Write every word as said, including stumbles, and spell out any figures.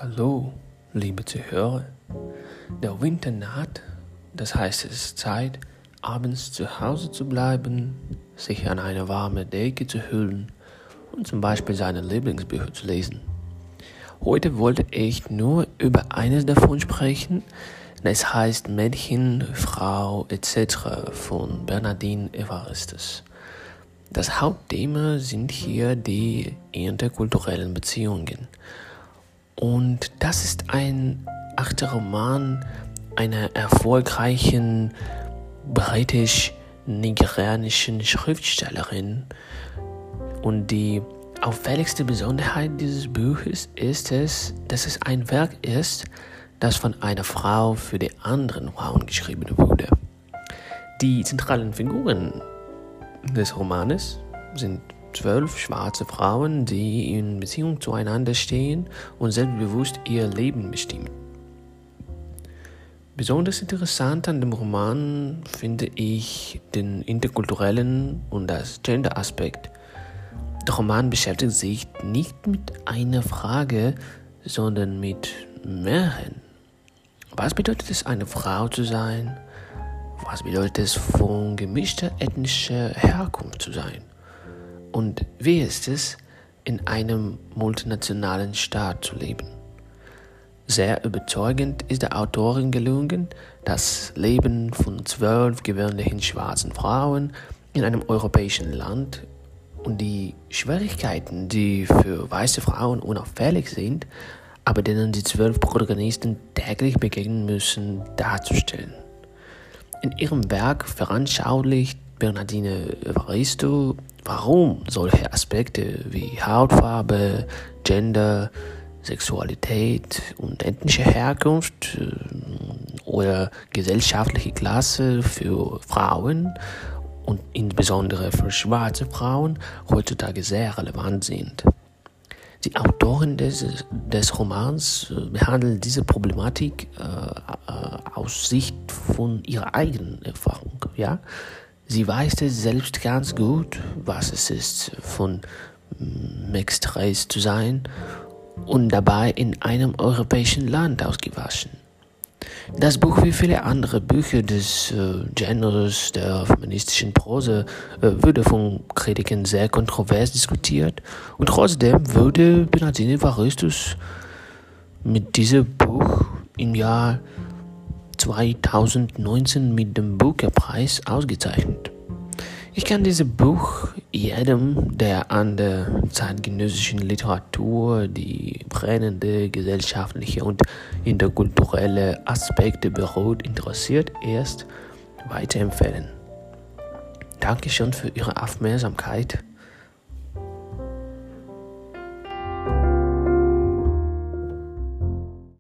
Hallo, liebe Zuhörer. Der Winter naht, das heißt, es ist Zeit, abends zu Hause zu bleiben, sich an eine warme Decke zu hüllen und zum Beispiel seine Lieblingsbücher zu lesen. Heute wollte ich nur über eines davon sprechen. Es heißt Mädchen, Frau et cetera von Bernardine Evaristo. Das Hauptthema sind hier die interkulturellen Beziehungen. Und das ist ein achter Roman einer erfolgreichen britisch-nigerianischen Schriftstellerin. Und die auffälligste Besonderheit dieses Buches ist es, dass es ein Werk ist, das von einer Frau für die anderen Frauen geschrieben wurde. Die zentralen Figuren des Romanes sind zwölf schwarze Frauen, die in Beziehung zueinander stehen und selbstbewusst ihr Leben bestimmen. Besonders interessant an dem Roman finde ich den interkulturellen und das Gender-Aspekt. Der Roman beschäftigt sich nicht mit einer Frage, sondern mit mehreren. Was bedeutet es, eine Frau zu sein? Was bedeutet es, von gemischter ethnischer Herkunft zu sein? Und wie ist es, in einem multinationalen Staat zu leben? Sehr überzeugend ist der Autorin gelungen, das Leben von zwölf gewöhnlichen schwarzen Frauen in einem europäischen Land und die Schwierigkeiten, die für weiße Frauen unauffällig sind, aber denen die zwölf Protagonisten täglich begegnen müssen, darzustellen. In ihrem Werk veranschaulicht Bernardine Evaristo, warum solche Aspekte wie Hautfarbe, Gender, Sexualität und ethnische Herkunft äh, oder gesellschaftliche Klasse für Frauen und insbesondere für schwarze Frauen heutzutage sehr relevant sind. Die Autorin des, des Romans äh, behandelt diese Problematik äh, äh, aus Sicht von ihrer eigenen Erfahrung. Ja? Sie weiß es selbst ganz gut, was es ist, von Mixed Race zu sein und dabei in einem europäischen Land ausgewaschen. Das Buch, wie viele andere Bücher des äh, Genres der feministischen Prose, äh, wurde von Kritikern sehr kontrovers diskutiert und trotzdem wurde Bernardine Evaristo mit diesem Buch im Jahr zweitausendneunzehn mit dem Booker-Preis ausgezeichnet. Ich kann dieses Buch jedem, der an der zeitgenössischen Literatur die brennende gesellschaftliche und interkulturelle Aspekte beruht, interessiert, erst weiterempfehlen. Dankeschön für Ihre Aufmerksamkeit.